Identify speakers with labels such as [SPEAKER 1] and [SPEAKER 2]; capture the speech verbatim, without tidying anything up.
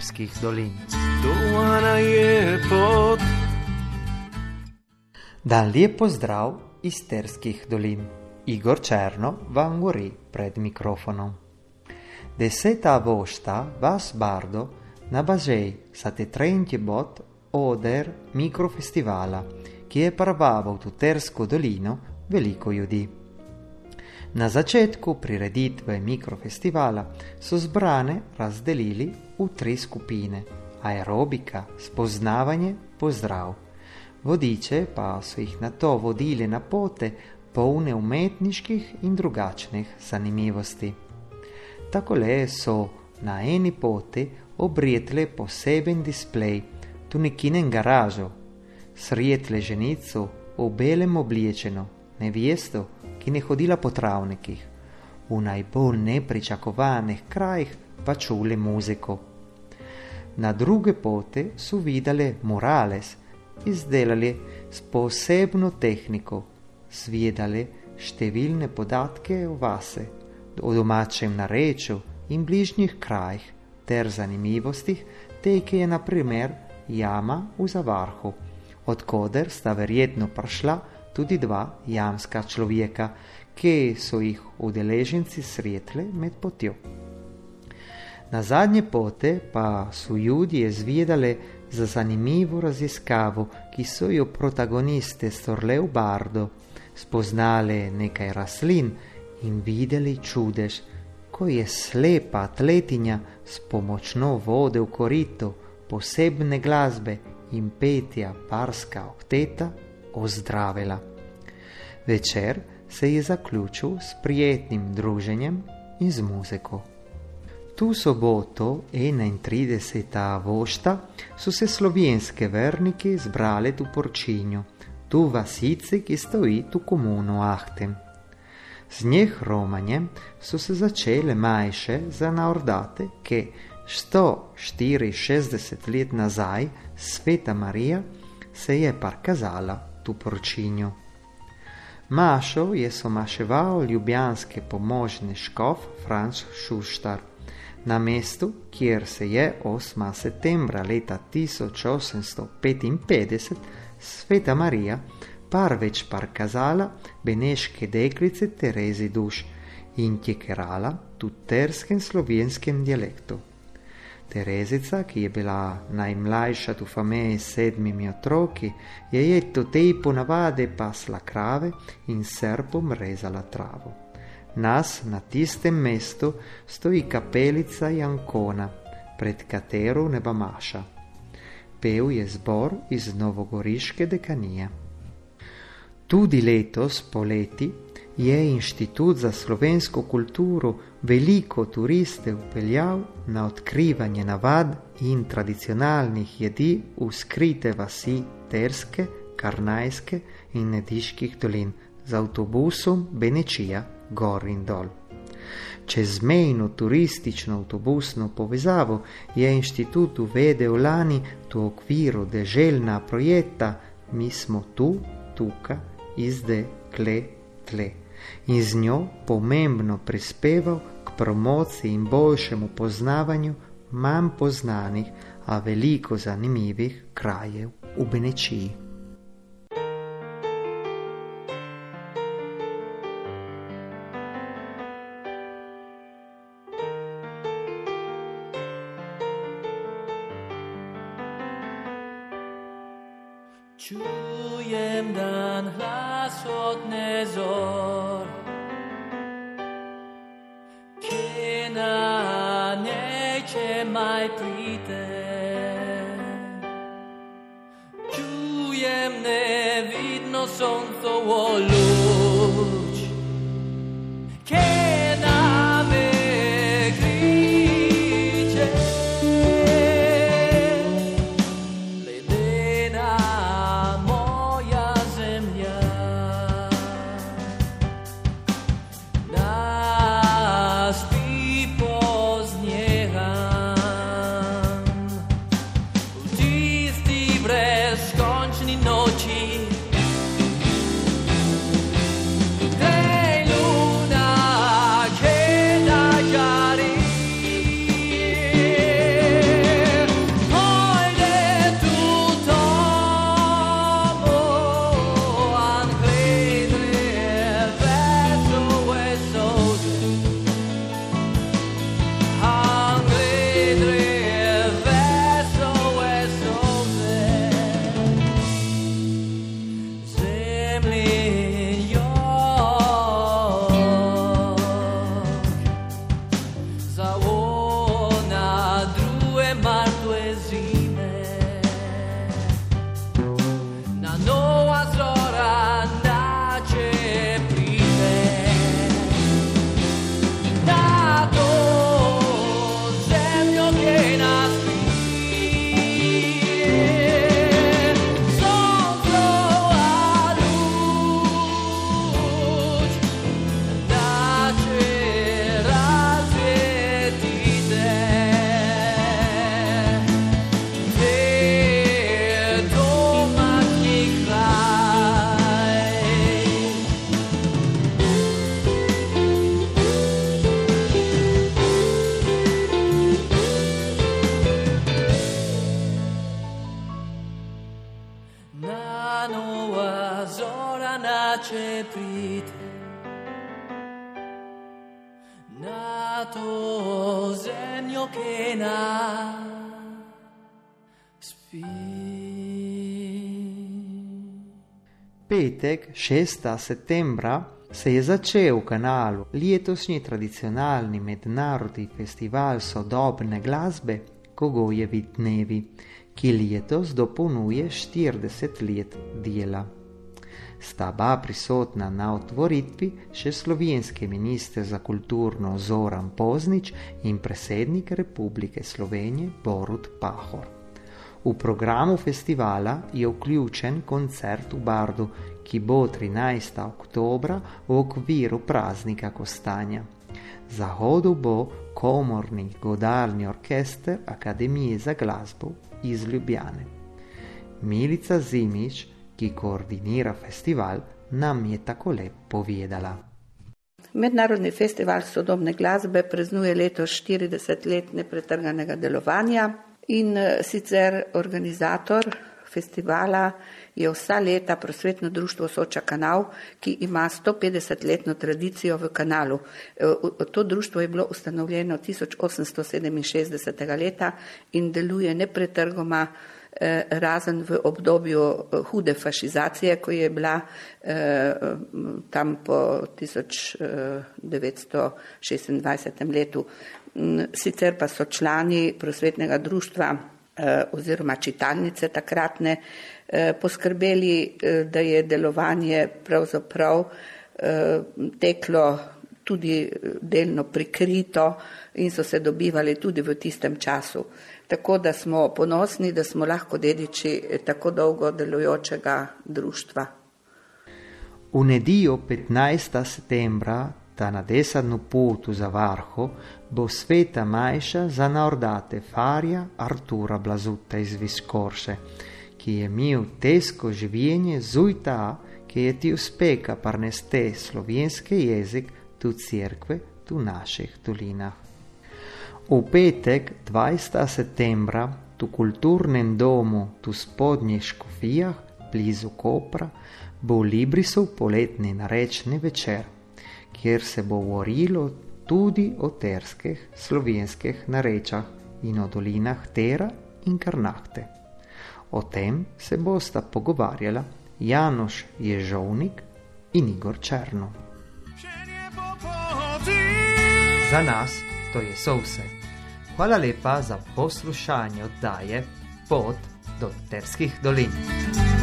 [SPEAKER 1] Isterskih dolin. Dan lijep pozdrav Isterskih dolin. Igor Černo vam govori pred mikrofonom. Deseta avgosta vas Bardo nabazej sate trentje bot oder mikrofestivala, ki je prvavo v Tutersko dolino veliko ljudi. Na začetku prireditve mikrofestivala so zbrane razdelili v tri skupine: aerobika, spoznavanje, pozdrav. Vodiče pa so jih nato vodili na pote polne umetniških in drugačnih zanimivosti. Takole so na eni poti obrijetle poseben displej, tu nekinen garažo, srijetle ženico v belem oblečeno, nevjesto, ki ne hodila po travnikih, v najbolj nepričakovanih krajih pa čule muziko. Na druge pote so videli murales, izdelali s posebno tehniko, svedali številne podatke o vase, o domačem narečju in bližnjih krajih ter zanimivostih, teke je na primer jama v Zavarhu, odkoder sta verjetno prišla tudi dva jamska človeka, ki so jih udeleženci sretli med potjo. Na zadnje pote pa so ljudje zvedali za zanimivo raziskavo, ki so jo protagoniste storle v Bardo, spoznali nekaj rastlin in videli čudež, ko je slepa atletinja s pomočno vode v korito, posebne glasbe in petja barska okteta ozdravila. Večer se je zaključil s prijetnim druženjem in z muziko. Tu soboto, enaintridesetega avgosta, so se slovenske verniki zbrali v Porčinju, tu vasici, ki stoji tu komuno Ahtem. Z njih romanjem so se začele majše za naordate, ki sto štiriinšestdeset let nazaj Sveta Marija se je parkazala tu Porčinju. Mašo je somaševal ljubljanski pomožni škof Franc Šuštar. Na mestu, kjer se je osmega septembra leta tisoč osemsto petinpetdeset Sveta Marija prvič parkazala beneške deklice Terezi Duš in tjekerala v tuterskem slovenskem dialektu. Terezica, ki je bila najmlajša v familiji s sedmimi otroki, je jeto tej ponavade pasla krave in srpom rezala travo. Nas na tistem mestu stoji kapelica Jankona, pred katero neba maša. Pel je zbor iz novogoriške dekanije. Tudi letos poleti je Inštitut za slovensko kulturo veliko turiste upeljal na odkrivanje navad in tradicionalnih jedi v skrite vasi Terske, Karnajske in Nediških dolin z avtobusom Benečija gor in dol. Čezmejno turistično avtobusno povezavo je inštitut uvedel lani v okviru deželna projekta Mi smo tu, tuka, izde, kle, tle in z njo pomembno prispeval k promociji in boljšemu poznavanju manj poznanih, a veliko zanimivih krajev v Benečiji.
[SPEAKER 2] Čujem dan hlas od nezor, ki na neče maj pride. Čujem nevidno soncovo luč, ki na me kriče. Luna nače prid na to zemljo, kena spi.
[SPEAKER 1] Petek, šestega septembra, se je začel v Kanalu letošnji tradicionalni mednarodni festival sodobne glasbe Kogojevi dnevi, ki letos dopolnjuje štirideset let dela. Sta ba prisotna na otvoritvi še slovenski minister za kulturno Zoran Poznič in predsednik Republike Slovenije Borut Pahor. V programu festivala je vključen koncert v Bardu, ki bo trinajstega oktobra v okviru praznika Kostanja. Zahodu bo komorni godalni orkester Akademije za glasbo iz Ljubljane. Milica Zimić, ki koordinira festival, nam je takole povedala.
[SPEAKER 3] Mednarodni festival sodobne glasbe praznuje letos štirideset let nepretrganega delovanja in sicer organizator festivala je vsa leta Prosvetno društvo Soča Kanal, ki ima stopetdesetletno tradicijo v Kanalu. To društvo je bilo ustanovljeno tisoč osemsto sedeminšestdesetega leta in deluje nepretrgoma razen v obdobju hude fašizacije, ko je bila eh, tam po tisoč devetsto šestindvajsetem letu. Sicer pa so člani prosvetnega društva eh, oziroma čitalnice takratne eh, poskrbeli, eh, da je delovanje pravzaprav eh, teklo tudi delno prikrito in so se dobivali tudi v tistem času. Tako da smo ponosni, da smo lahko dediči tako dolgo delujočega društva.
[SPEAKER 1] V nedeljo petnajstega septembra, ta na desadnu putu za Varho, bo sveta majša za naordate farja Artura Blazuta iz Viskorše, ki je imel težko življenje zujta, ki je ti uspeka parneste slovenski jezik tu cerkve, tu naših dolinah. V petek, dvajsetega septembra, tu kulturnem domu, tu spodnjih Škofijah, blizu Kopra, bo v Librisu poletni narečni večer, kjer se bo govorilo tudi o terskih slovenskih narečah in o dolinah Tera in Karnahte. O tem se bosta pogovarjala Janoš Ježovnik in Igor Černo. Za nas to je so vse. Hvala lepa za poslušanje oddaje Pot do Terskih dolin.